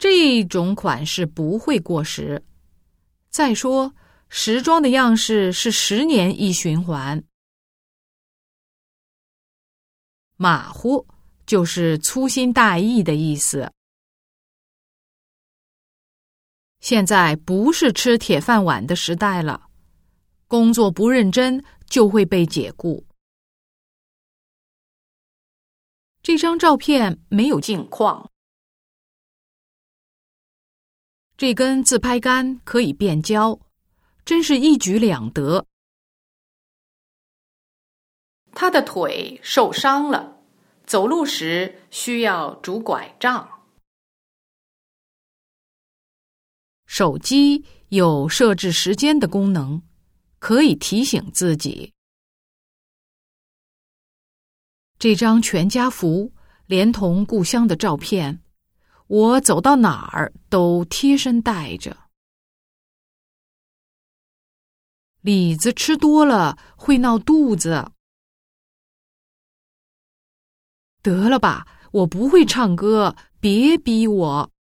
这种款式不会过时。再说，时装的样式是10年一循环。马虎就是粗心大意的意思。现在不是吃铁饭碗的时代了，工作不认真就会被解雇。这张照片没有镜框。这根自拍杆可以变焦，真是一举两得。他的腿受伤了，走路时需要拄拐杖。手机有设置时间的功能，可以提醒自己。这张全家福连同故乡的照片，我走到哪儿都贴身带着。李子吃多了会闹肚子。得了吧，我不会唱歌，别逼我。